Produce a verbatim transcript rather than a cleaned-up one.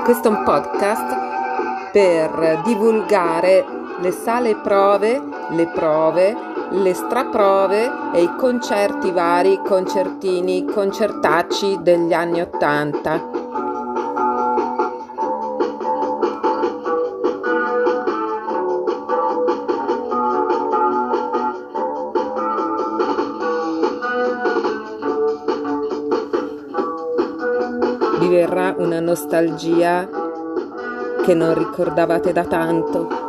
Questo è un podcast per divulgare le sale prove, le prove, le straprove e i concerti vari, concertini, concertacci degli anni Ottanta. Vi verrà una nostalgia che non ricordavate da tanto.